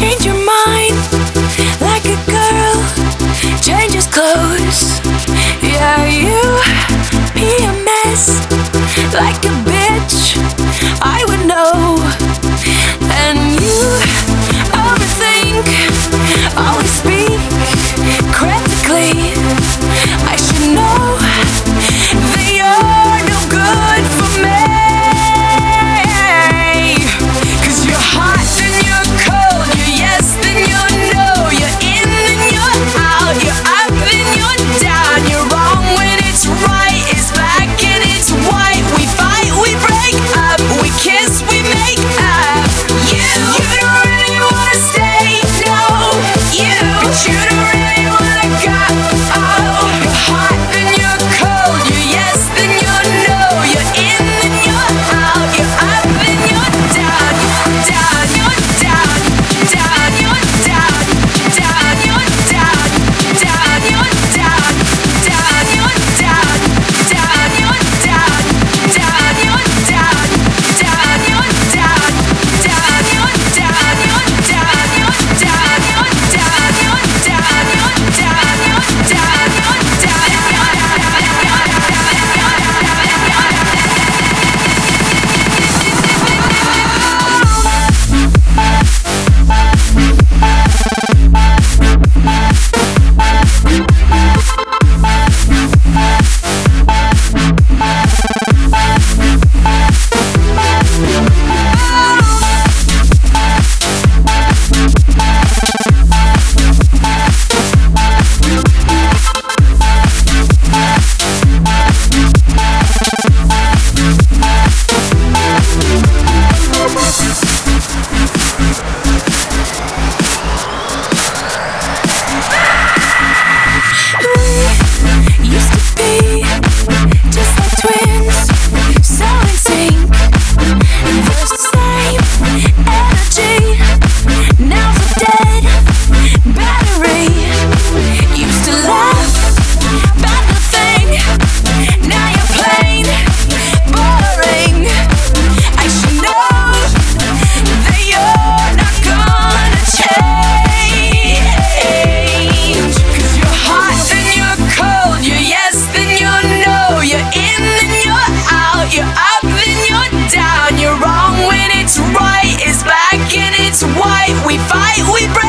change your mind like a girl changes clothes. Yeah, you PMS like a bitch, I would know. And you overthink, always speak critically. I should know that you're no good for me. 'Cause you're hot, then you're cold, you're yes, then you're no, you're in, then you're out, you're up, then you're down, you're wrong when it's right, it's black and it's white. We fight, we break up, we kiss, we make up. You don't really wanna stay, no, but you don't really wanna go. You're hot, then you're cold, you're yes, then you're no, you're in, then you're out, you're up, then you're down, down, you're down, down, you're down, down, you're down, down, you're down, down, you're down, down, you're down, down, you're down, down, you're down, down, you're down, you're down, you're down, you're down, you're down, you're down, you're down, you're used to be just like twins, so in sync. There's the same energy. Now's a dead battery. Used to laugh about nothing. Now you're plain boring. I should know that you're not gonna change. 'Cause you're hot, then you're cold, you're yes, then you're no, you're in, then you're out, you're up, then you're down, you're wrong when it's right, it's black and it's white. We fight, we break